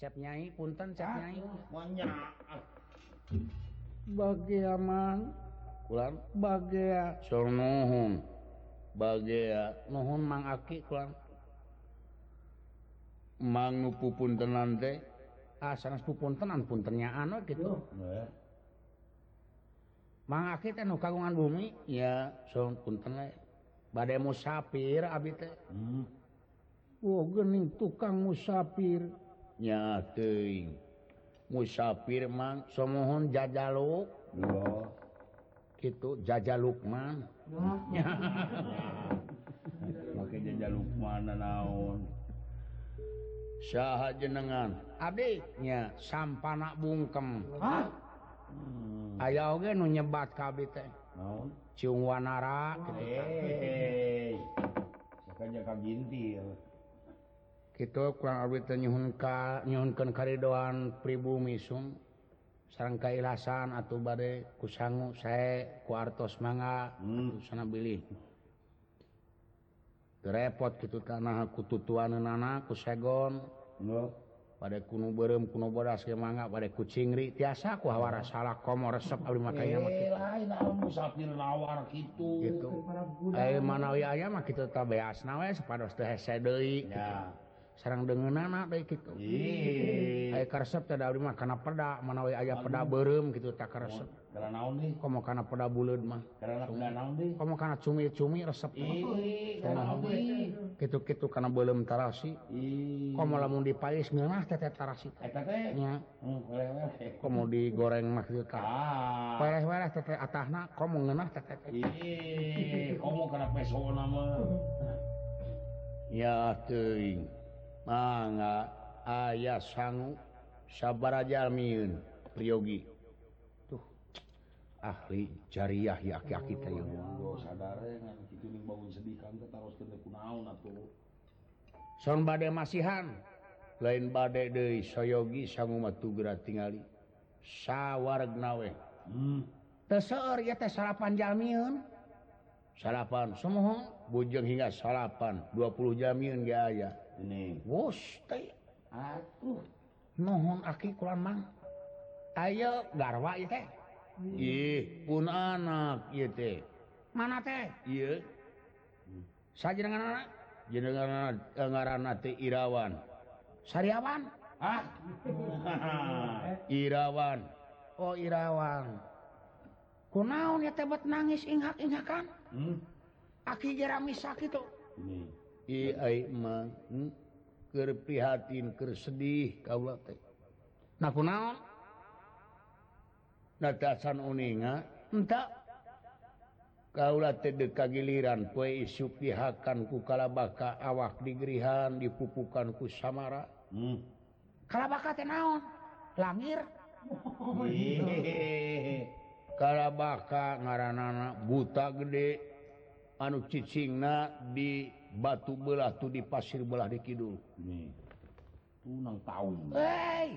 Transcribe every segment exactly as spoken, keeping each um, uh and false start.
Cep Nyai, punten Cep Nyai. Banyak. Bagea mang. Kulan bagea. Sur nuhun. Bagea nuhun Mang Aki kulan. Mang nu pupuntenan teh. Ah sanes pupuntenan puntennyaan we kitu. Mang Aki teh nu kagungan bumi, ya sun punten we. Bade musafir abi teh. Hmm. Oh geuning tukang musafir. Nya teuing. Musafir mang samohon jajaluk. Yo. Kitu jajaluk mang. Nya. Make jajaluk mana naon? Saha jenengan? Abdi nya sampana bungkem. Hah? Hmm. Aya oge nu nyebat ka abdi teh. Naon? Ciung Wanara kitu. Hei. Sakaja kagintir. Kitu kurang abdi teh nyuhun ka nyuhunkeun karidoan pribumi sung sareng kailasan atuh bade ku sangu sae ku artos mangga hmm. Sana bilih. Repot kitu tanah ku tutuaneunana ku segon. No. Bade kuno beureum kuno bodas ge mangga bade ku cingri tiasa ku hawara salah komo resep abdi makanya mah kitu. Lain naon musafir nawar kitu. Kitu. Aya manawi aya mah kitu teh beasna we sapados teu hese deui. Ya. Sareng deungeunana deui kitu. Ih. Aya karesep teh da abdi mah kana peda manawi aya peda beureum kitu teh karesep. Kana naon deui? Komo kana peda buleud mah. Kana peda naon deui? Komo kana cumi-cumi resep. Ih, kana naon deui? Kitu-kitu kana beuleum tarasi. Ih. Komo lamun dipais ngeunah teh tarasi. Eta teh? Nya. Hmm, weleh. Komo digoreng mah kitu teh. Ah. Weleh-weleh teh atahna komo ngeunah teh teh. Ih, komo kana pesona mah. Ya teuing. Mangga aya sangu sabaraja almieun Priyogi. Tuh ahli jariah ya aki-aki teh ya. Monggo sadare ngan kitu ning bangun sedih kang teh taroskeun teh kunaon atuh. Son bade masihan. Lain bade deui Soyogi sangu mah tugeura tingali. Sawargna we. Hmm. Teu seueur ieu teh salapan jalmieun. Salapan samohon bujeng hingga salapan dua puluh jalmieun ge aya. Ini wus teh atuh nuhun aki kulan mang ayo garwa ieu teh ih pun anak ieu teh mana teh ieu sajenenganna jenenganna ngaranna teh Irawan Sariawan ah Irawan oh Irawan kunaon ieu teh bet nangis inghak-inghakan hmm? Aki ge ramisa kitu ini I ai mah hmm? Keur prihatin keur sedih kaula teh. Nah kunaon? Natasan uninga enta kaula teh deuk kagiliran poe isuk dihakan ku kalabaka awak digerihan dipupukan ku samara. Hmm. Kalabaka teh naon? Langir. Kalabaka ngaranana buta gede anu cicingna di batu belah tu di pasir belah di kidul. Nih. Tunang taun. Hei.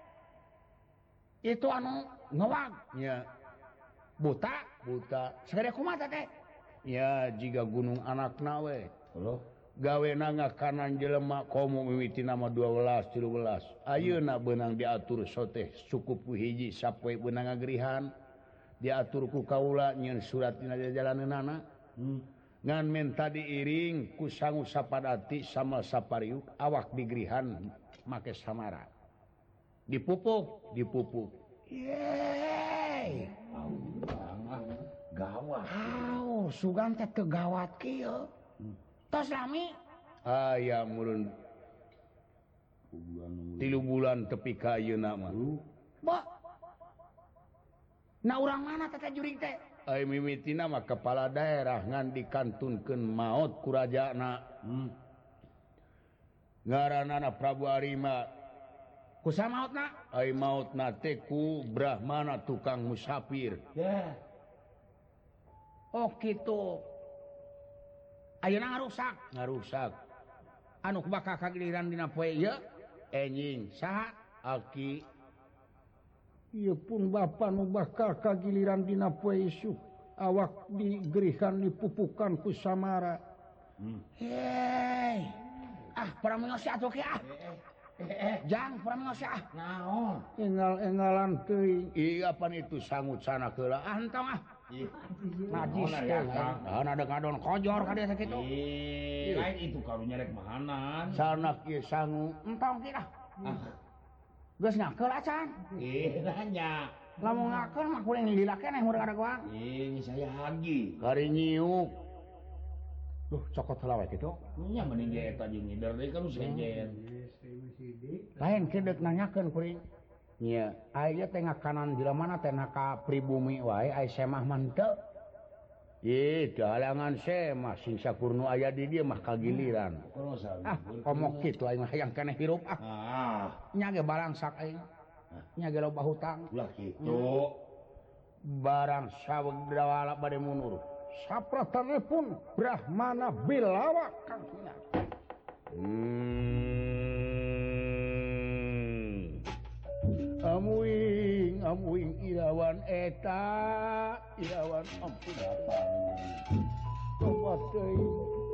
Itu anu ngewag. Ya. Buta, buta. Sagede kumaha teh? Ya jiga gunung anakna we. Halo. Gawena ngakanan jelema komo mimiti nama dua belas tilu belas. Ayeuna beunang diatur soteh cukup ku hiji sapoe beunang ngagerihan. Diatur ku kaula nyieun surat dina jalaneunana. Hmm. Ngan menta diiring ku sangu sapadati sama sapariuk awak digerihan make samara dipupuk dipupuk yeay gawat aw sugan teh teu gawat kieu tos lami aya murun tilu bulan tepi ka ayeuna mah ba na urang mana teh juring teh ai mimitina mah kepala daerah ngan dikantunkeun maot ku rajana. Hmm. Ngaranana Prabu Arima. Kusaha maotna? Ai maotna teh ku Brahmana tukang musafir. Yeah. Oh kitu. Ayeuna ngarusak, ngarusak. Anu bakal kagiliran dina poe ieu enjing saha? Aki ieu pun bapa nu bakal kagiliran dina poe isuk awak digerihan dipupukan ku samara. Hmm. Hei. Ah, para mengos atuh ke ah. Jang pramosa. Naon? Enggal-enggalan teuing. Iya pan itu sangut sana keula. Ah entong ah. Najis teh. Naon ada ngadon kojor ka dieu sakitu. Ih, lain itu karunya rek mahanan. Sana kieu sangu. Entong kieu dah. Ah, Geus ngakeul acan. ih nanya. Lamun ngakeul mah kuring lila keneh meureun kadagoang. Ih, saya hagi. Kari nyiuk. Duh, cokot heula we kitu. Nya mending ge eta jeung ngider deui kan sejen. Lain kedeuk nanyakeun kuring. Nya, aya teh ngakanan di mana teh ka pribumi wae aya semah mah henteu. Ih, dahalangan semah sing sakurnu aya di dieu mah kagiliran. Ah, omok kitu aing mah hayang keneh hirup ah. Ah, Nya ge balangsak aing. Nya ge loba hutang. ulah kitu. Barang sawegdawala bade mundur. Sapratanipun Brahmana bilawa kangkina. Hmm. Amuing, amuing irawan eta, irawan ampun apa. Tobat teuing.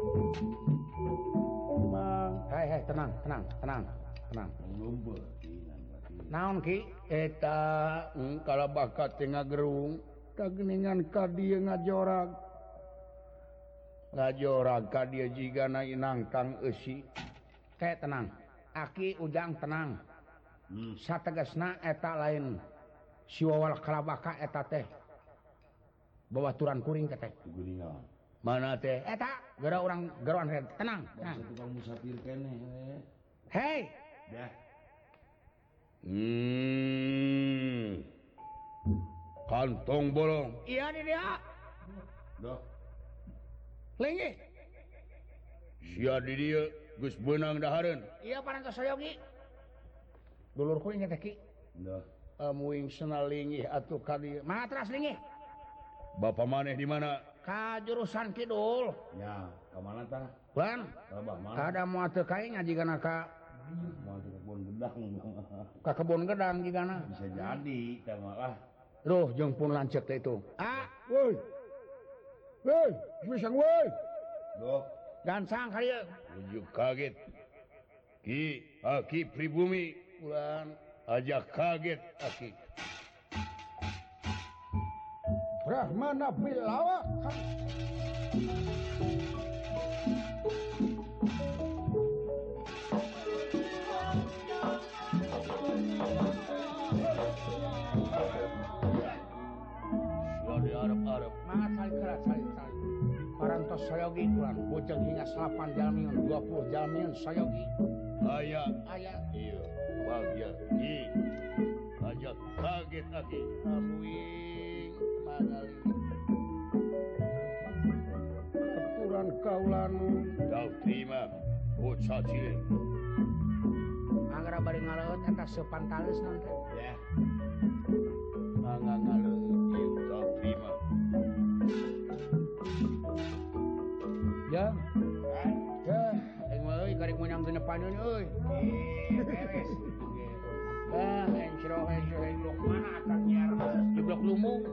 Mang, hei hei tenang, tenang, tenang, tenang. Lumba. Naon ki eta hmm, kalau bakat teh ngagerung kageningan ka dieu ngajorag ngajorag ka dieu jigana inang kang eusi teh tenang aki ujang tenang hmm. Sategasna eta lain siwawal kalabaka eta teh babaturan kuring teh Guningan. mana teh eta gara urang garuan tenang Bangsa tukang musafir keneh. hei Dah. Hmm. Kantong bolong. Iya di dia. Dah. Lengge. Sia di dia geus beunang dahareun. Iya parantos sayogi. Dulur kuring teh ki. Dah. Amuing senal linggih atuh ka dieu. Matras linggih. Bapak maneh di mana? Ka jurusan kidul. Ya, ka mana tah? Ban. Rabah mana? Kada moal teu kae ngajigana ka Mau ke kebun gedang. ka kebun gedang jigana. Bisa jadi teh malah. Duh, jeung pun lancet teh itu. Ah, woi. Woi, pisang woi. Dok. Gansang kali ya. Ujuk kaget. Ki, aki pribumi. Ulan, aja kaget aki. Brahmana bilawa. Arep-arep mangat sali kerat sali-sali parantos sayogi kulan bojeng hingga salapan jalmiun dua puluh jalmiun sayogi aya aya iya bagya i ajak kaget aki amuing mangali keturan kaulan dau terima bocah cilik anggar bari ngaleut eta sepantales nanti ya mangga ngaleut ieu dau terima ya ya aing mah euy karek meunang genepaneun euy beres ah encro encro encro mana akan nyiar jeblok lumung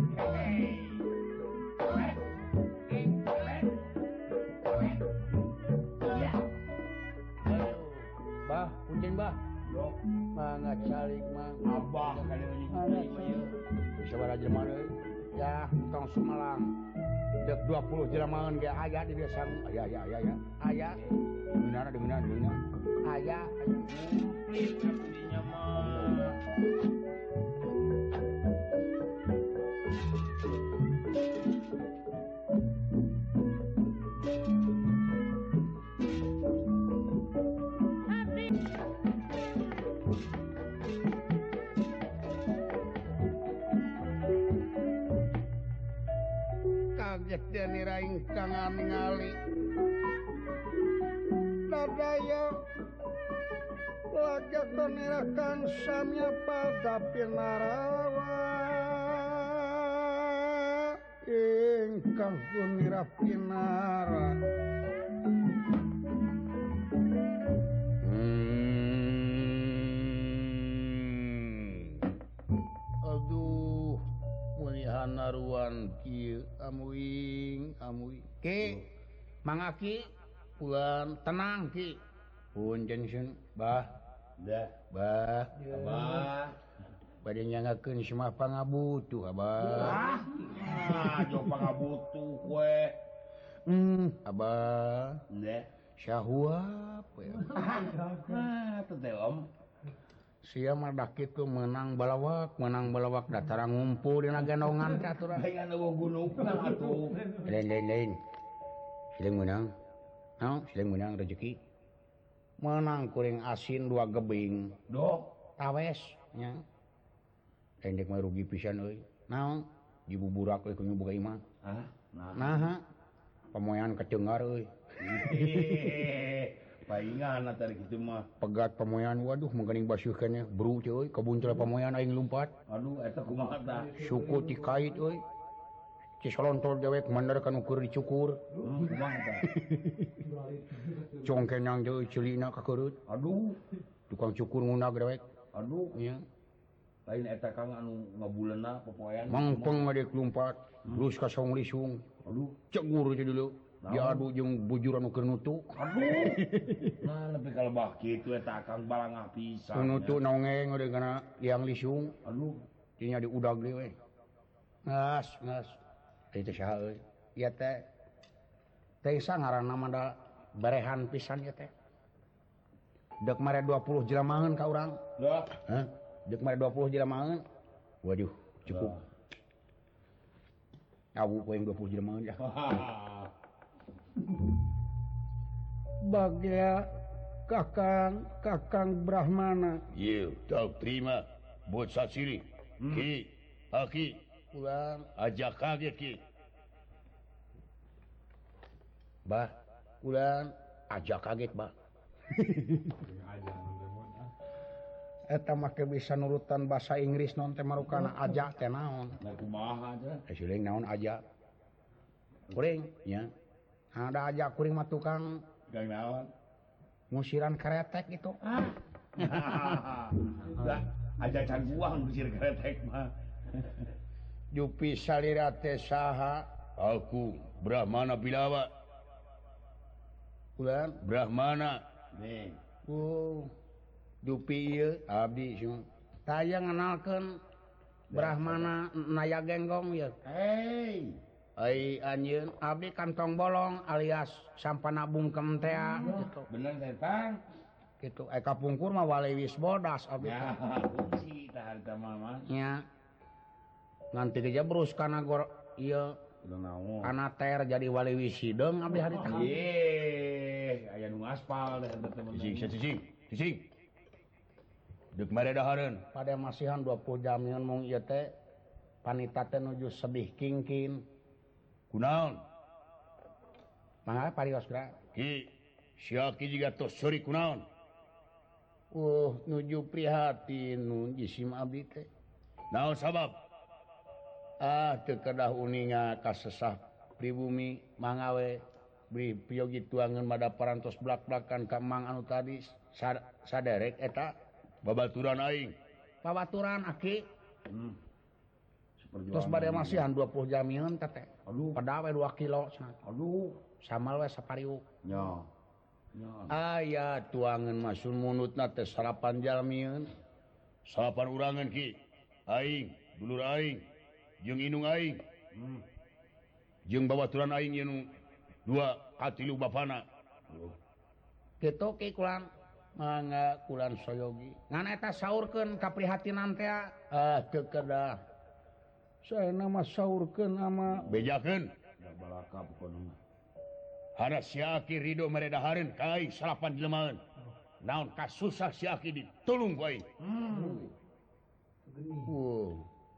bah punten bah Dok. mangga calik mang Abah kali ini. bisa jelema deui ya tong Sumelang dek dua puluh jelemaeun ge aya di desa aya aya aya aya aya dimana dimana dimana aya Komplit dinya mah. kaget dan iraing kang ningali dadaya lagak konirakan samya pada pinarawa ingkang kunira pinara hmm. Aduh munihan naruan kieu amuing amuing ki mangaki puan tenang ki punten sun bah dah bah abah bade nyangakeun semah pangabutuh abah ah jauh pangabutuh kue hmm abah dah syahwap ya ah teh om sia mah dak kitu menang balawak menang balawak datara ngumpul dina gendongan teh aturan bae anu gunung atuh lain lain lain siling menang naon siling menang rezeki menang kuring asin dua gebing dok tawes nya endek mah rugi pisan euy naon dibuburak euy ku boga imah ah nah naha pamoean kecengar euy paingan tadi kitu mah pegat pamoean waduh mangkaning basuhkeun nya bru euy kabuncel pamoean aing lumpat aduh eta kumaha tah suku ti kait euy ci solontol dewek mandar kan ukur dicukur kumaha tah congkenang deui ceulina kakeurut aduh tukang cukur ngundag dewek aduh nya lain eta kang anu ngabuleuna popoean mangpeng ngadek lumpat terus ka saung lisung aduh cegur teh dulu diadu jeung bujur anu keur nutu aduh nah lebih kalebah kitu eta kang balangah pisan nutu nongeng udah kana liang lisung aduh nya diudag deui we ngas ngas itu saha euy ieu teh teh ngaranna mah da berehan pisan ieu teh dek mare dua puluh jelemaeun ka urang dah hah dek mare dua puluh jelemaeun waduh cukup awu poeng dua puluh jelemaeun ya bagia kakang kakang Brahmana Iya, tak terima buat sasiri. Hmm. Ki, aki, ulang ajak kaget ki. bah ulang ajak kaget bah eta make bisa nurutan bahasa Inggris non teh marukana ajak teh naon nah kumaha aja siling naon ajak kuring nya ada ajak kuring mah tukang gang naon ngusiran kretek gitu ah dah aja can buang ngusir kretek mah Jupi salira teh saha Aku Brahmana Bilawa. ulang Brahmana. nih oh Jupi ieu abdi sing taya ngenalkeun Brahmana Naya Genggong ya hey ai anjeun abdi kantong bolong alias sampana bungkem teh gitu bener teh tang gitu ai kapungkur mah walewis bodas abdi ya si tah harta mama nya nganti geus berus kana gor ieu udah naon kana ter jadi walewis hideung abdi hari teh ye aya nu aspal teh teman Sising, sising, sising. Dek mare dahareun. pada masihan dua puluh jam nyeun mung ieu teh panita teh nuju sedih kingkin Kunaon? mangga parios geura Ki, si aki juga tos sori kunaon? uh nuju prihatin nun jisim abdi teh Naon sabab? ah teu kedah uninga kasesah pribumi mangawe beri piyogi tuangan mada parantos blak-blakan ka mang anu tadi sad- saderek eta Babaturan aing. babaturan aki hmm. terus bade masihan dua puluh jam yeun teh aduh pada we dua kilo cenah aduh samal we sapariuk nya nya aya tuangan masun munutna teh salapan jalmieun Salapan urangan ki. Aing, dulur aing, jeung inung aing, hmm. jeung babaturan aing ieu nu dua katilu bapana. kitu ki kulan mangga kulan soyogi ngan eta saurkeun kaprihatinan teh ah teu kedah saena mah saurkeun ama Bejakeun. da balaka pokona Hana si aki rido mere dahareun ka aing salapan jelemaeun. Naon kasusah si aki ditulung ku aing. hmm. uh.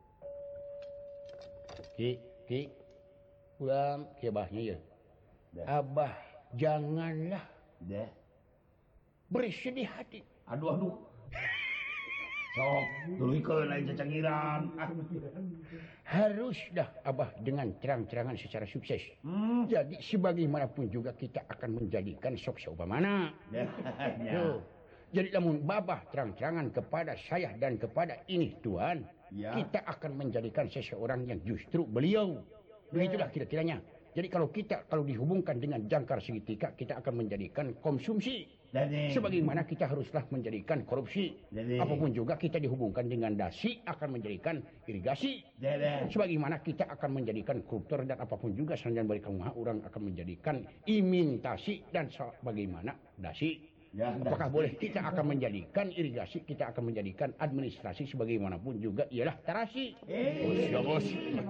ki ki kulan kebahnya ya dah abah janganlah dah bersedih hati aduh aduh sok tulikeun aing cacangiran ah harus dah abah dengan terang-terangan secara sukses hmm. jadi sebagaimanapun juga kita akan menjadikan sok seupamana dah nya Tuh. Jadi namun babah terang-terangan kepada saya dan kepada ini Tuhan, ya kita akan menjadikan seseorang yang justru beliau. Begitulah kira-kiranya. Jadi kalau kita kalau dihubungkan dengan jangkar segitiga, kita akan menjadikan konsumsi. Sebagaimana kita haruslah menjadikan korupsi. Dede. Apapun juga kita dihubungkan dengan dasi akan menjadikan irigasi. Dede. Sebagaimana kita akan menjadikan koruptor dan apapun juga sanjan balik rumah orang akan menjadikan imitasi dan sebagaimana dasi. Ya, Apakah dasi. boleh kita akan menjadikan irigasi, kita akan menjadikan administrasi sebagaimanapun juga ialah terasi. Eh, Ya bos.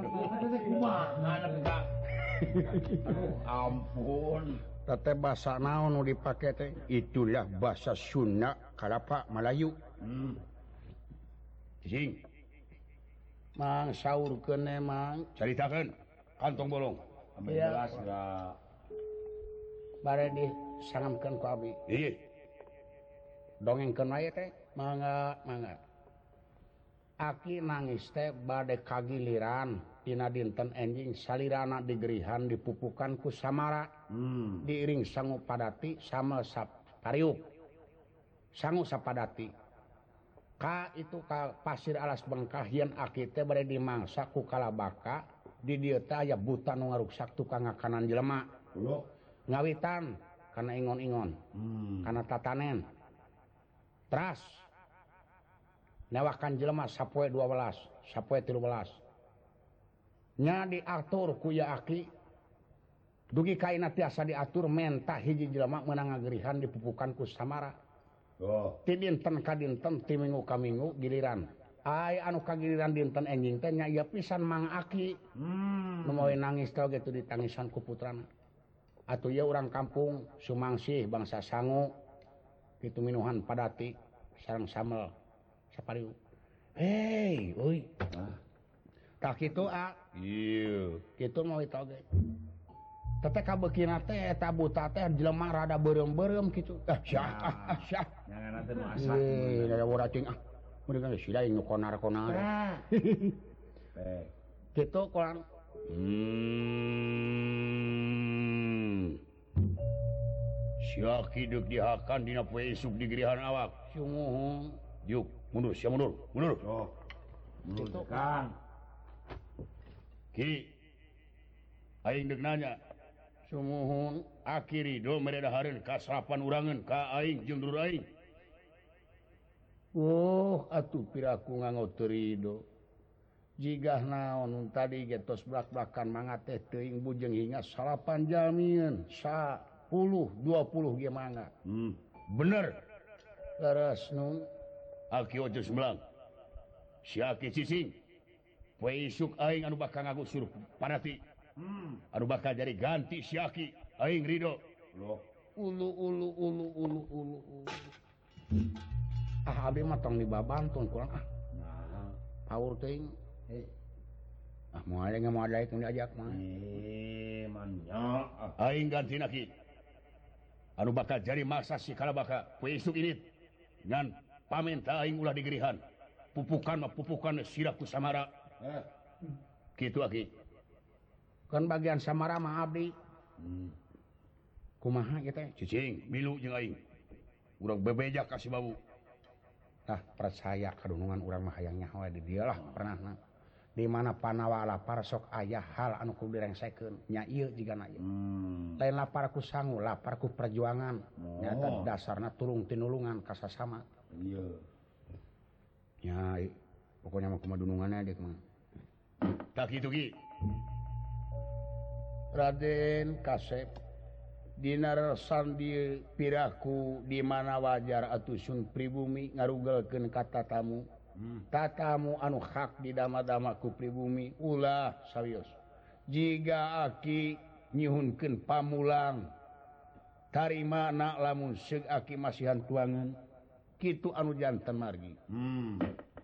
kumaha enggak? Aduh, ampun. Tete bahasa naon nu dipake teh itulah bahasa Sunda kalapa Melayu. Hmm. Cicing, Mang saurkeun e mang caritakeun kantong bolong. Ambil Iya. gelas enggak? bare disangamkeun ku abdi. Ieu. Dongengkeun wae teh mangga mangga. Aki nangis teh bade kagiliran dina dinten enjing salirana digerihan dipupukan ku Samara. Hmm. Diiring sangu padati sama sapariuk sangu sapadati ka itu ka pasir alas bengkah yen aki teh bade dimangsa ku kalabaka di dieu teh aya buta nu ngaruksak tukang ngakanan jelema Loh. ngawitan kana ingon-ingon Hmm. kana tatanen teras newakan jelema sapoe dua belas sapoe tilu belas nya diatur ku ya aki dugi kaina tiasa diatur menta hiji jelema meunang ngagerihan dipupukan ku Samara. Oh. Ti dinten ka dinten ti minggu ka minggu giliran. Ai anu kagiliran dinten enjing teh nya ieu pisan Mang Aki. Hmm. Nu moe nangis teh gitu ditangisan ku putrana. Atuh ieu urang kampung Sumangsih bangsa sangu kitu minuhan padati sareng samel sapariu. Hei, euy. Ah. Tah kitu a, Ieu. kitu moe toge. Tete kabeukina teh eta buta teh jelema rada beureum-beureum kitu. Ah, syah, ah, ah, syah. Jangan nanti masak. Eh, rada boracing ah. Mending geus sida nu konar-konar. Ah. Eh. Kitu kurang. Hmm. Sia hidup dihakan dina poe isuk di gerihan awak. Sumuhung. Yuk, mundur, sia mundur, mundur. Oh. Itu. Menurut Kang. Ki. Aing deuk nanya, Sumuhung. Aki Ridho meredahareun ka salapan urangan ka aing jeung dulur aing. Oh, atuh piraku nganggo teu ridho. Jigah naon nun tadi ge tos blak-blakan mangga teh teuing bujeng hinga salapan jalmieun sapuluh dua puluh ge mangga. Hmm. Bener. Leres nun. Aki ojo sembilan. Si Aki Cicing. Poe isuk aing anu bakal ngagusur padati. Hmm. Anu bakal jadi ganti si Aki. Aing Ridho. Loh. Ulu ulu ulu ulu ulu ulu. Ah abdi mah tong dibabantun kurang ah. Nah. Paur teuing. Eh. Ah moal ge moal daek nu diajak mah. Eh, manya. Ah. Aing ganti naki. Anu bakal jadi masa si kalabaka. Poe isuk ini. Ngan pamenta aing ulah digerihan. Pupukan mah pupukan sirah ku Samara. Eh. Kitu Aki. Kan bagian Samara mah abdi. Hmm. Kumaha ieu teh? Cicing, milu jeung aing. Urang bebejak kasih babu. Tah percaya kadunungan urang mah hayang nyaho di dieu lah pernahna. Di mana panawa lapar sok aya hal anu kudu direngsekeun. Nya ieu jigana ieu. Hmm. Lain lapar ku sangu, lapar ku perjuangan. Oh. Nyata dasarna tulung tinulungan ka sasama. Iya. Nya i- pokoknya mah kumaha dununganna deuk mah. Tak kitu Ki. Raden Kasep dina resan di piraku di mana wajar atusun pribumi ngarugelkeun ka tatamu. Hmm. Tatamu anu hak didama-dama ku pribumi ulah sawios. Jiga Aki nyihunkeun pamulang tarimana lamun seug Aki masihan tuangan kitu anu janten margi. Hmm.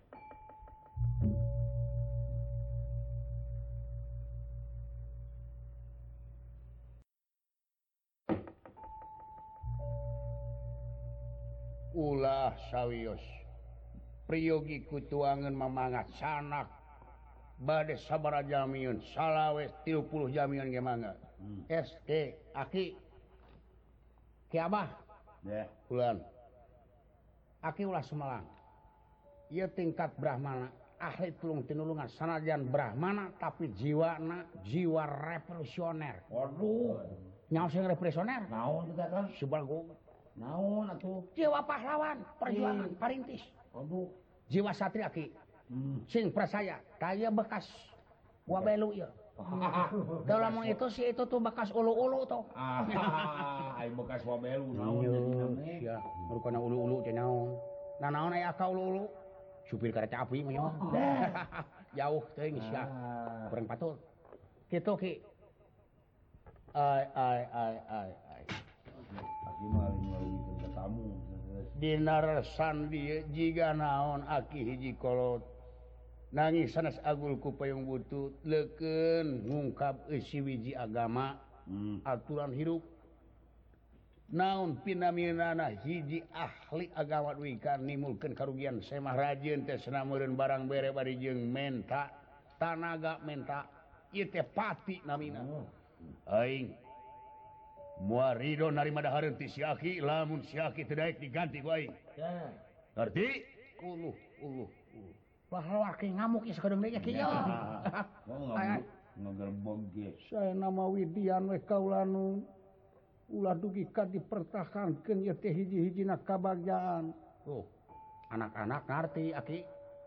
Ulah sawios. Priyogi ku tuangan mamangat sanak bade sabaraha jamiun salawe tilu puluh jamiun ge mangga. Hmm. S T Aki Ki Abah Ya. ulan Aki ulah Sumelang. Ieu tingkat Brahmana ahli tulung tinulungan sanajan Brahmana tapi jiwana jiwa revolusioner. Waduh. Nyaho sing revolusioner? Naon kita kan? Subalgo. naon atuh jiwa pahlawan perjuangan parintis aduh jiwa satria ki hmm. sing percaya daya bekas wabelu ya dalam itu sih itu tuh bekas ulu-ulu tuh ah ai bekas wabelu naon jadi namanya ya rukana ulu-ulu teh naon nah naon aya ka ulu-ulu supir kereta api mah jauh teuing sia kurang patul kitu ki ai ai ai ai ai aki mah ngaliwikeun ka tamu dinarasan dieu jiga naon aki hiji kolot nangis sanes agul ku payung butut leukeun ngungkap eusi wiji agama hmm. aturan hirup naon pinaminana hiji ahli agama duwi kan nimulkeun karugian semah rajin teh cenah meureun barang bere bari jeung menta tanaga menta ieu teh pati namina aing moal ridho narima dahareun ti si aki lamun si aki teu daek diganti ku aing ngarti uluh uluh uluh wah laki ngamuk ya sakadeng deui kieu ngamuk ngagerbog ge saya nama Widian we kaulanu ulah dugi ka dipertahankeun ieu teh hiji-hijina kabagjaan tuh anak-anak ngarti aki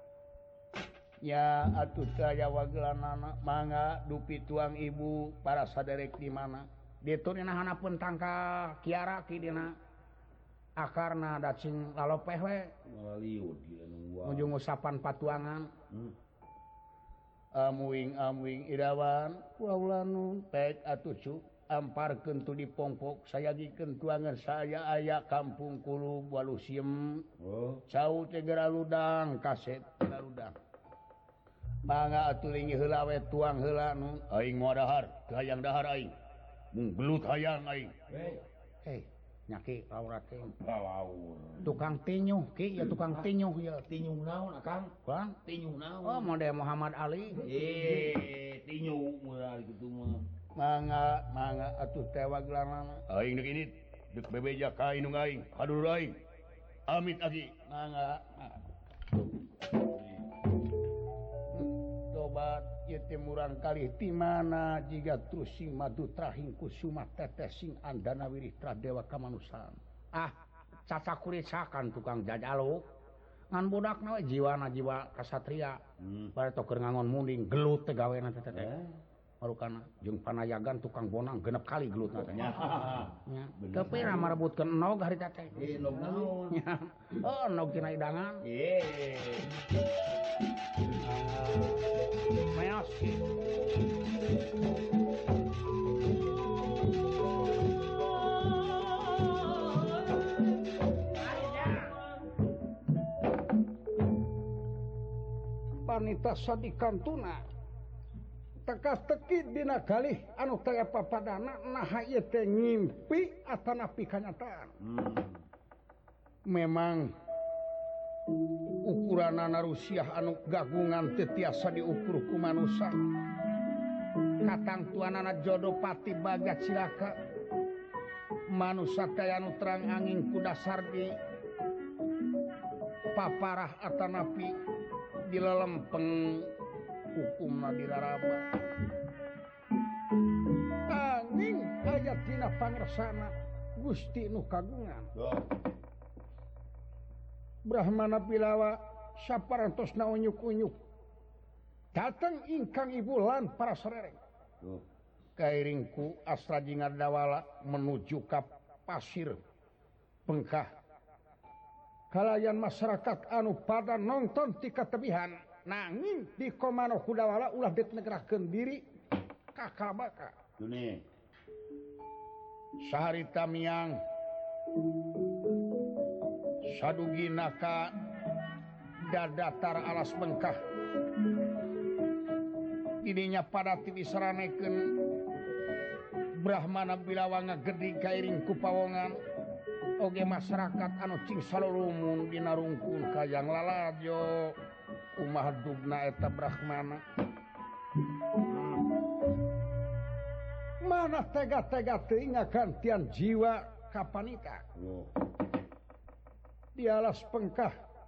ya atuh teh aya wagelanana mangga dupi tuang ibu para saderek di mana ditu dina hanapeun tangka kiara ki dina akarna da cing lalopeh we ngaliud ieu nu ujung usapan patuangan hmm. amuing amuing irawan waulanu pek atuh cu amparkeun tu dipongpok sayagikeun tuangan saya aya kampung kulub walusiem oh cau teh geraludang kaset geraludang mangga atuh lingi heula we tuang heula nu aing moal dahar teu hayang dahar aing mung belut hayang aing hei nyaki aurat teh laur tukang tinyuh ki ya tukang tinyuh ya tinyuh naon akang bang tinyuh naon oh model Muhammad Ali eh tinyuh moal kitu mah mangga mangga atuh teh wagelanana aing deuk ini deuk bebeja ka indung aing hadur aing amit aki mangga tobat ieu teh murang kalih ti mana jiga terus sing madu trahing kusuma tetes sing andana wirih tradewa kamanusaan ah cacakuritakan tukang jajalo ngan budakna we jiwana jiwa kasatria hmm. bare teu keur ngangon munding gelut teh gawena teh teh marukana jeung panayagan tukang bonang genep kali gelutna teh nya teu pira marebutkeun enog harita teh eh enog naon oh enog tina idangan ye meos panita sadikantuna teka-teki dina kalih anu taya papadana naha ieu teh ngimpi atanapi kanyataan hmm. memang ukuranana rusiah anu gagungan teu tiasa diukur ku manusia katangtuanana jodoh pati bagat cilaka manusia kaya anu terang angin ku dasar di paparah atanapi dilelempeng hukumna diraraba angin aya dina pangresana Gusti nu kagungan Brahmana Bilawa saparantosna unyuk-unyuk datang ingkang ibu lan para serereng kairingku asra jingadawala menuju ka pasir pengkah kalayan masyarakat anu pada nonton ti katebihan nanging di komano kudawala ulah ditnegrakeun diri ka kalabaka tune saharita miang sadugina ka dadatar alas bengkah didinya pada tiwisaranekeun Brahmana Bilawa ngagedhi kairing ku pawongan oge masyarakat anu cing salulumun dina rungkun kayang lalajo umah dugna eta Brahmana mana tega-tega teuing ngagantian jiwa kapanika di alas pengkah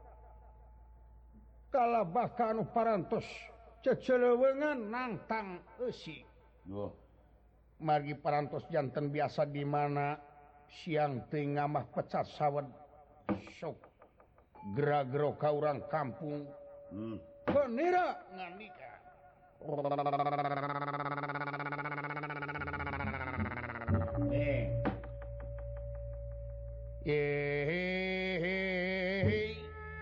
kalabaka anu parantos ceceleuweungan nangtang eusi margi parantos janten biasa di mana siang tengah mah pecat sawat sok gera-gero ka urang kampung hmm. Penira ngandika eh Hehehe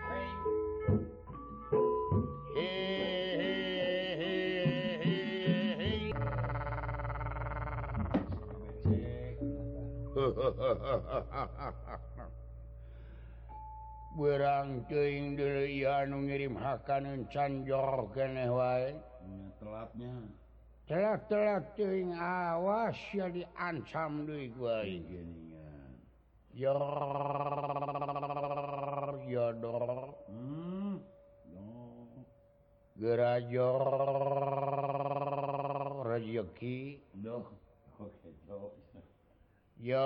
berang teuing deui anu ngirim hakaneun can jor keneh wae telatnya telat-telat teuing awas ya diancam deui ku aing yor yodor hmm gerajor rezeki doh oke doh yo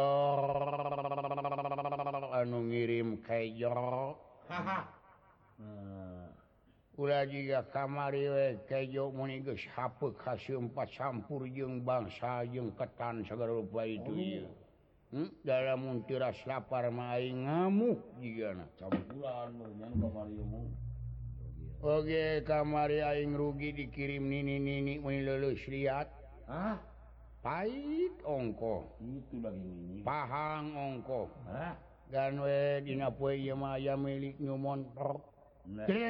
anu ngirim kejo haha ulah jiga kamari we kejo muni geus hapeuk haseumpat campur jeung bangsa jeung ketan sagala rupa itu ieu hmm? Dalam mun tiras lapar mah aing ngamuk jigana campuran nyan kamari mu oge kamari aing rugi dikirim nini-nini mun leuleus liat ah pait ongko itu lagi ini pahang ongko hah gan we dina poe ieu mah aya milik nyumon hei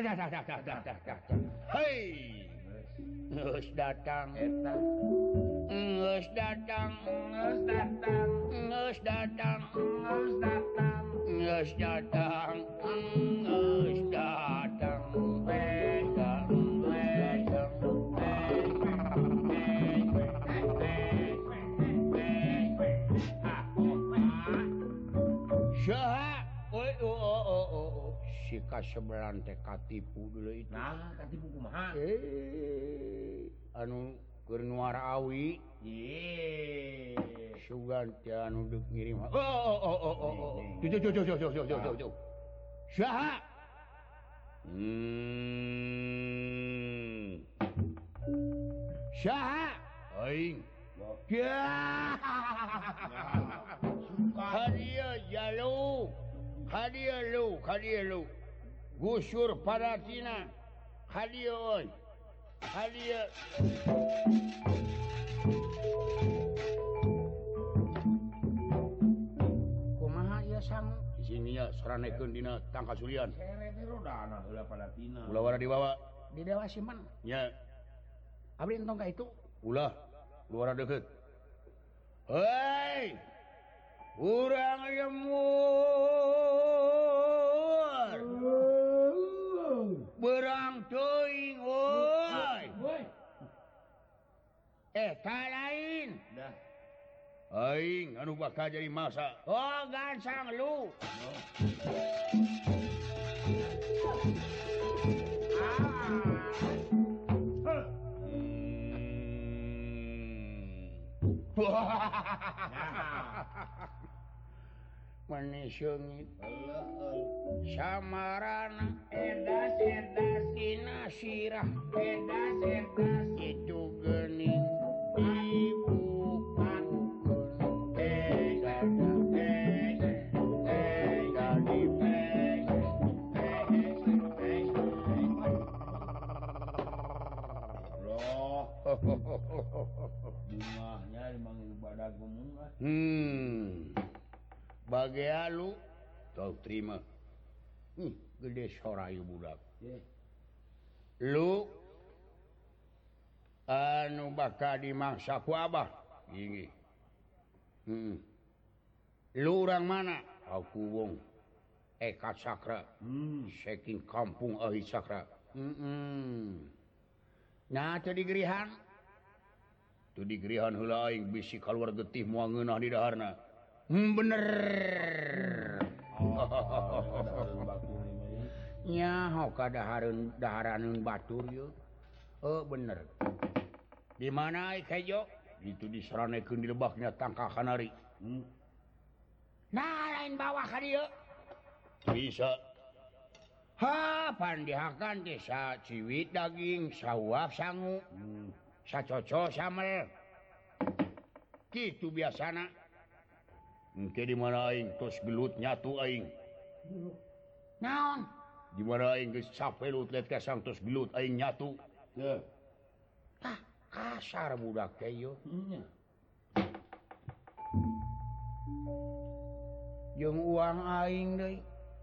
geus datang eta geus datang geus datang geus datang geus datang geus datang geus datang Saha? Oi, oh, oh, oh, oh. Si kasebelan teh katipu dulu itu. Nah, katipu kumaha? Eh, anu keur nuara awi. Ye. Sugan teh anu deuk ngirim. Oh, oh, oh, oh, oh, oh. Tuh, tuh, tuh, tuh, tuh, tuh, tuh, tuh. Saha? Hmm. Saha? Aing. Ya. Hadia jalu, hadia lu, hadia lu, gusur paratina, hadia oi, hadia. Kumaha ieu sang? Di sini ya saranekeun dina tangkasulian. Sere teh rodana heula paratina. Ulah wara dibawa. Di Dewa Siman. Nya. Abdi entong ka itu. Ulah, luar deket. Hei! Urang lemur. Berang teuing woi. Eh, ta lain. Dah. Aing anu bakal jadi masa. Oh, gansang lu. Menisungit samarana edas edas dina sirah edas edas itu gening dibukukeun eh dada eh eh jadi eh Loh. Bungahnya dimanggil badak gumung lah. Hmm. Bagia lu tau terima. Hmm, gede sorayu budak. Yeah. Lu anu bakal dimangsa ku abah. Gini. Hmm. Lu orang mana? Aku wong Eka Sakra. Hmm. Saking kampung Ahi Sakra. Hmm. Nah, teu digerihan. Tu digerihan heula aing bisi kaluar getih moal ngeunah di daharna. Hmm, bener. Nyaho ka dahareun daharaneun batur yeuh. Oh, bener. Di mana ai kejo? Itu disaranekeun di lebaknya tangka kanari. Hmm. Nah, lain bawah ka dieu. Bisa. Ha, pandihakan desa ciwit daging, sawap sangu, hmm. sacoco samel. Kitu biasana. engke di mana aing tos gelut nyatu aing. Naon? Di mana aing geus sapelut liat ka sang tos gelut aing nyatu. Teu. Tah, kasar budak teh ieu. Nya. Jeung uang aing deui.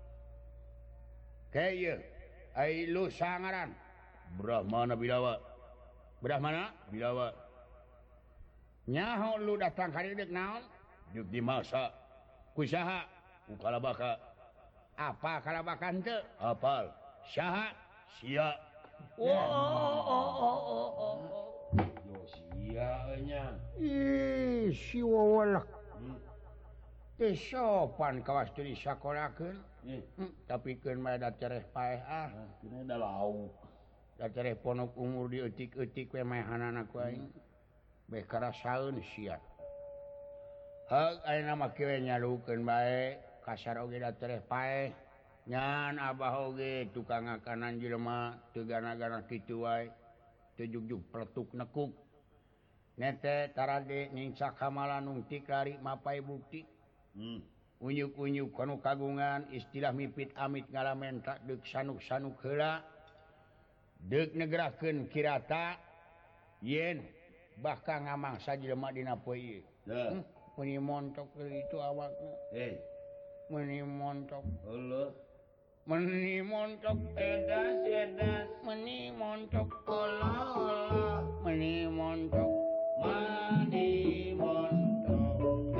Kayak ieu. Ai lu sangaran. Brahmana Bilawa. Brahmana Bilawa. Nyaho lu datang ka dieu naon? Deuk dimasa. Ku saha? Ku kalabaka. Apa kalabakan teu? Apal. Saha? Sia. Oh, oh, oh, oh, oh, oh. Yo sia nya. Ih, si wawalak. Hmm. Teu sopan kawas teu disakolakeun. Eh, Hmm, tapi keun mah da cereh paeh ah. nah, kena ada lauk. Da cereh ponok umur dieutik-eutik we maehanana ku aing. Beh karasaeun sia. Heug ayeuna mah kieu nyalukeun bae, kasar oge da cereh paeh. Nyan abah oge tukang ngakanan jelema teu gana-gana kitu wae. Teu jugjug peletuk nekuk. Nete tarade nyingsak hamalan nungtik lari mapai bukti. Hmm. Unyuk-unyuk kanu kagungan istilah mipit amit ngalamen tak deuk sanuk-sanuk heula. Deuk negrakeun kirata yen bahkan ngamangsa jelema dina poe ieu. Teu. Hmm, meuni montok deui itu awakna. Eh, Meuni montok. heuleut. Meuni montok Edas, edas. meuni montok olah-olah. Meuni montok Mandi montok.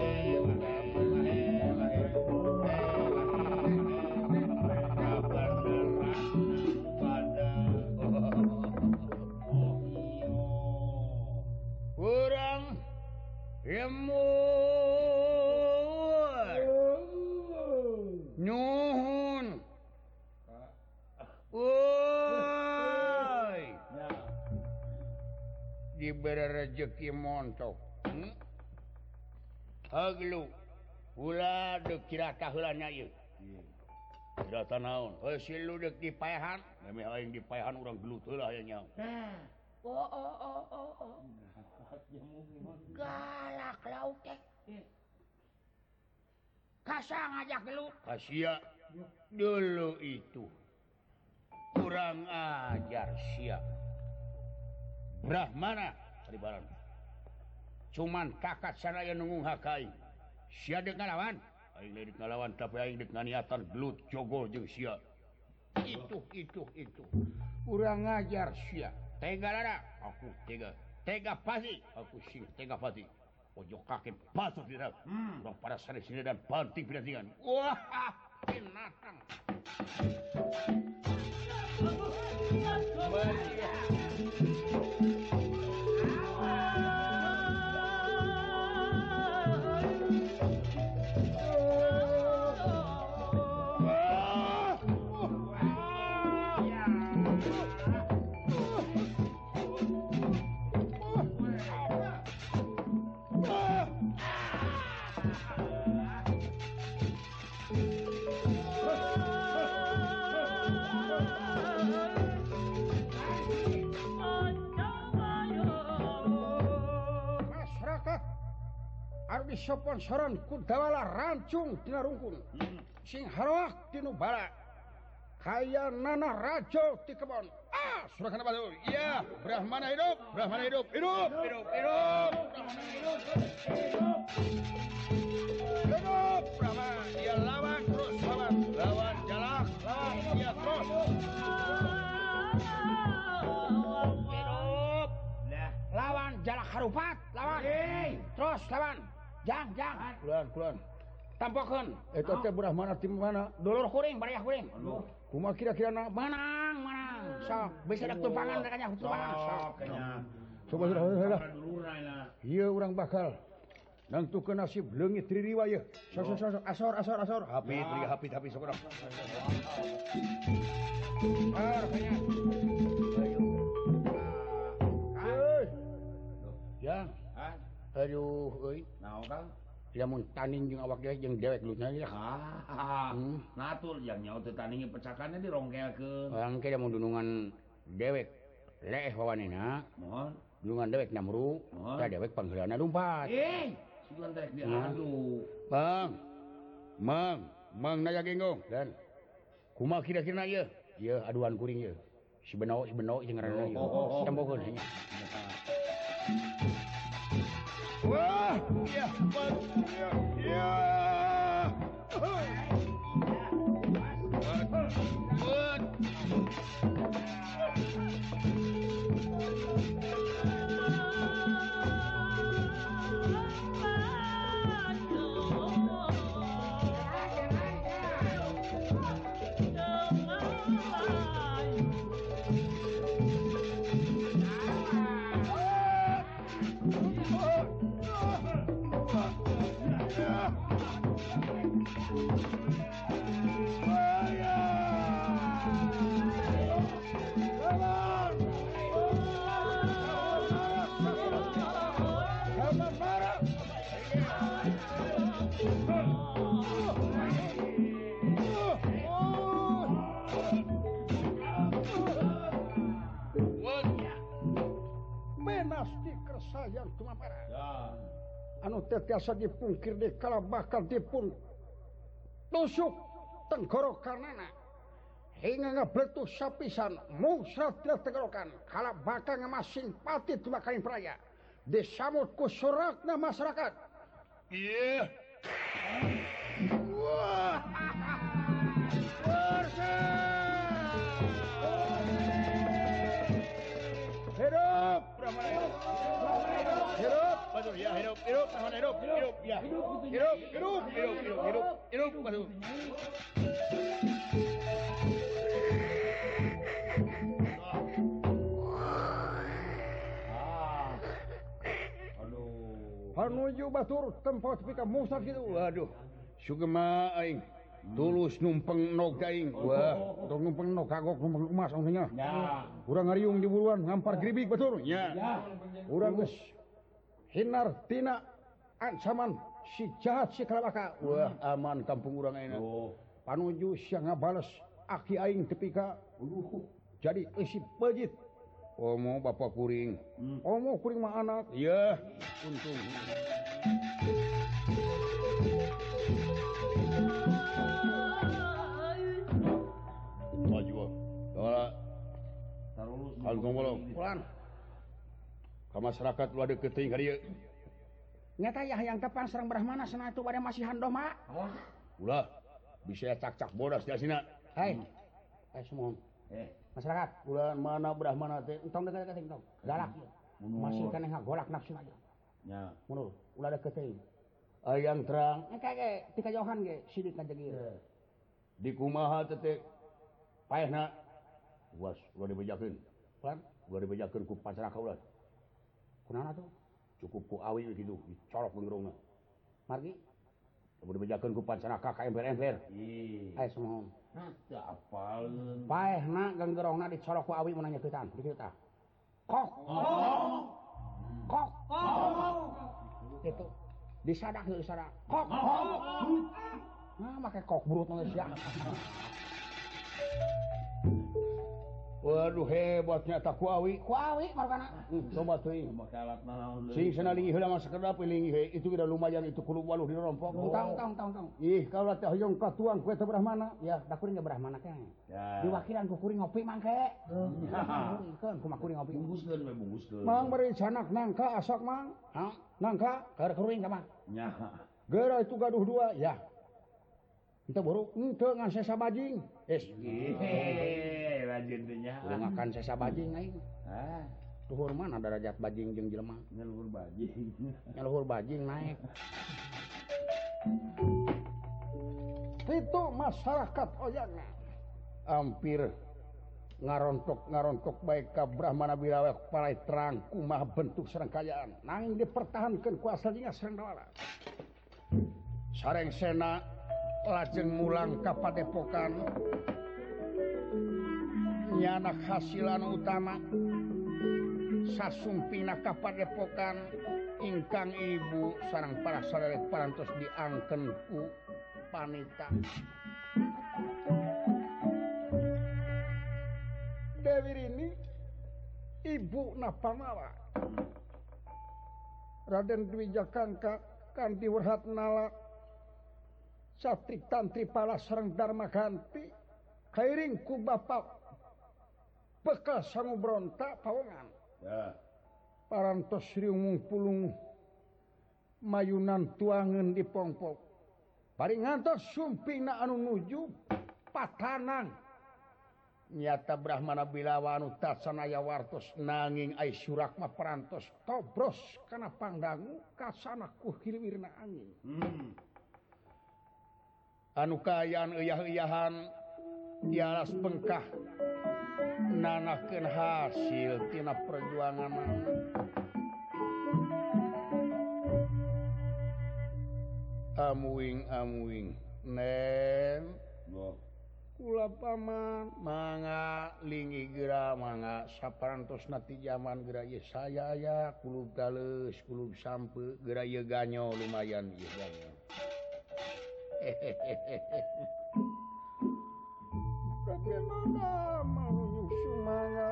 kurang lemur nyuhun woi Ya. diberi rezeki montok hmm? Haglu ulah deuk kirata heulana ieu Kirata naon? heuh si lu deuk dipaehan Memeh aing dipaehan urang gelut heula aya nya. oh oh oh oh oh galak lauk teh kasa ngajak gelut Kasia dulu itu kurang ajar sia. Brahmana kadibaran. cuman kakat sanaya nunggung hak aing sia deuk ngalawan Aing deuk ngalawan tapi aing deuk nganiatan gelut jogol jeung sia. itu itu itu urang ngajar sia tega lada Aku tega. tega pasti Aku sing tega pati. Ojo kake patut dina. Hmm. Urang para sane sini dan banting pinatingan. wah binatang masyarakat harus disponsoran ku dawala rancung tina rungkun sing haroak tinu bala kaya nana rajo ti kebon ah surakan apa tuh iya Brahmana hidup Brahmana hidup hidup hidup hidup Brahmana hidup hidup hidup Brahmana dia lawan terus lawan lawan jalak lawan dia terus hidup Lah, lawan jalak harupat lawan terus lawan jang jang kulon kulon tampakkan itu teh Brahmana tim mana dulur kuring bariah kuring kumaha kira-kira na menang menang sok bisa dak tumpangan rekanya tumpangan sok sok kenya. coba sudah sudah Dulurna lah. ieu urang bakal nangtukeun nasib leungit ririwa ieu sok sok sok asor asor asor hapit Hapit, hapit, hapit sok urang. ah rekanya Heuh. Yang Ah, aduh euy naon Kang? lamun taning jeung awak dewe jeung dewek lutna ya Ah, Hmm. natur yang nyawa teu tandingi pecakannya dirongkelkeun. orang ke mun dunungan dewek leeh wawanina Mohon. dunungan dewek namru Oh. tah dewek pangheulana lumpat Eh, Bang Mang Mang naya genggong dan kumaha kira-kira ieu ieu aduan kuring ieu si beno si beno jeung ngaranna ieu cambokeun nya wah iya iya yang tumapara anu teh tiasa dipungkir di kala bakal dipun tusuk tenggorokanana hingga ngabletus sapisan musrat di tenggorokan kala bakal ngemasing pati tumakain peraya disamut ku suratna masyarakat iya wah hidup hidup Batur ya hidup hidup Brahmana hidup hidup ya hidup hidup hidup hidup hidup hidup Batur Panuju batur tempat pika musak gitu. Waduh, sugema aing tulus numpeng nog aing. Wah, tong numpeng nog kagok numpeng emas ongnya. Ya. Urang ngariung di buruan ngampar gribik batur. Ya. Urang geus hinar tina ancaman si jahat si kalabaka. Wah, aman kampung urang ayeuna. Oh. Panuju sia ngabales aki aing tepika. Jadi isi pejit. Omo bapak kuring. Hmm. Omo kuring mah anak. Iya, untung. Maju. Dora. Tarulus. Kangkong bolong. Pulan. Ka masyarakat lu ada keteuing ka dieu. Nyata ya yang tepan sareng Brahmana sana itu bade masih handoh mak. Ulah bisa cak-cak bodas di sini. Hai. Eh semua. Eh masyarakat bulan mana Brahmana teh entong dekat-dekat entong galak masih kan ngagolak nafsu aja nya mundur ulah deket teh ayang terang eh kage ti kajauhan ge sidik ngajegi di kumaha teh teh paehna was ulah dibejakeun lan ulah dibejakeun ku pancaraka ulah kunaon atuh cukup ku awi kitu dicolok ngerongna margi ulah dibejakeun ku pancaraka ka ember-ember ih aya samohon teu apalkeun. Paehna ganggerongna dicolok ku awi mun nyakitan di kitu tah. Kok. Kok. Itu disadak heuh disadak. Kok. Nah make kok burut geus ya. Waduh hebatnya tak ku awi. Ku awi margana. Coba teuing. Make alatna naon deui. Sing cenah linggih heula mah sakedap linggih he itu udah lumayan itu kudu waluh dirompok. Tong tong tong tong. Ih kalau teh hoyong katuang ku eta Brahmana. Ya da kuring ge Brahmana teh. Ya. Diwakilan ku kuring ngopi mangke. Keun ku kuring ngopi. Bungkuskeun we bungkuskeun. Mang beri canak nangka asok mang. Ha? Nangka keur kuring ka mah. Nya. Geura itu gaduh dua ya. Ente buru ente ngan sesa bajing. Es. Heeh, rajin teh nya. Udah makan sesa bajing aing. Ah, luhur mana derajat bajing jeung jelema? nya luhur bajing. Nya luhur bajing naik. Itu masyarakat oyangna hampir ngarontok-ngarontok baik ka Brahmana Bilawe palai terang kumaha bentuk serangkayaan nanging dipertahankeun ku asalinya Sendawala. Sareng sena lajeng mulang ka padepokan nyana hasilan utama sasumpina ka padepokan ingkang ibu sareng para saderek parantos diangken ku panita Dewi Rini ibu Napamala Raden Dwi Jakangka kanthi werhat nala satrik tantri pala sareng Dharma ganti kairing ku Bapak bekal sangu bronta pawongan ya parantos riung pulung mayunan tuangan di pongpok paling ngantos sumpingna anu nuju patanang nyata Brahmana Bilawa anu tasanaya wartos nanging ai surakma parantos tobros kana pangdangu kasana ku hilwirna angin hmm. anu kayan eyah-eyahan dialas bengkah nanakeun hasil tina perjuangan amuing amuing nen Bo. kula paman mangga lingi geura mangga saparantosna ti jaman geura ieu saya aya kulub taleus kulub sampe geura ieu ganyo lumayan ieu ganyo bagaimana mau sumangga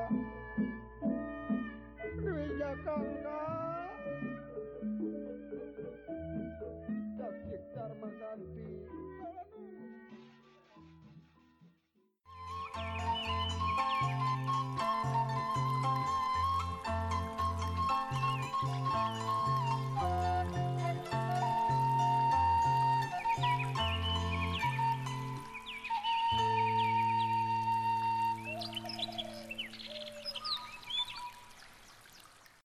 Dewi Jakangga Cacik Dharma ganti